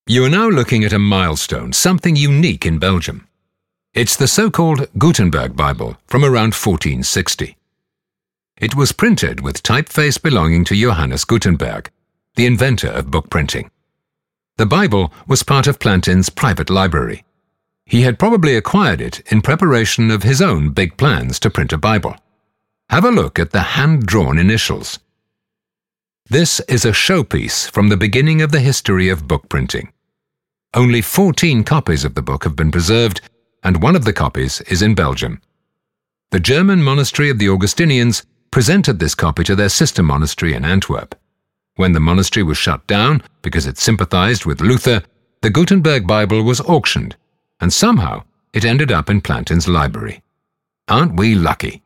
You are now looking at a milestone, something unique in Belgium. It's the so-called Gutenberg Bible from around 1460. It was printed with typeface belonging to Johannes Gutenberg, the inventor of book printing. The Bible was part of Plantin's private library. He had probably acquired it in preparation of his own big plans to print a Bible. Have a look at the hand-drawn initials. This is a showpiece from the beginning of the history of book printing. Only 14 copies of the book have been preserved, and one of the copies is in Belgium. The German monastery of the Augustinians presented this copy to their sister monastery in Antwerp. When the monastery was shut down because it sympathized with Luther, the Gutenberg Bible was auctioned, and somehow it ended up in Plantin's library. Aren't we lucky?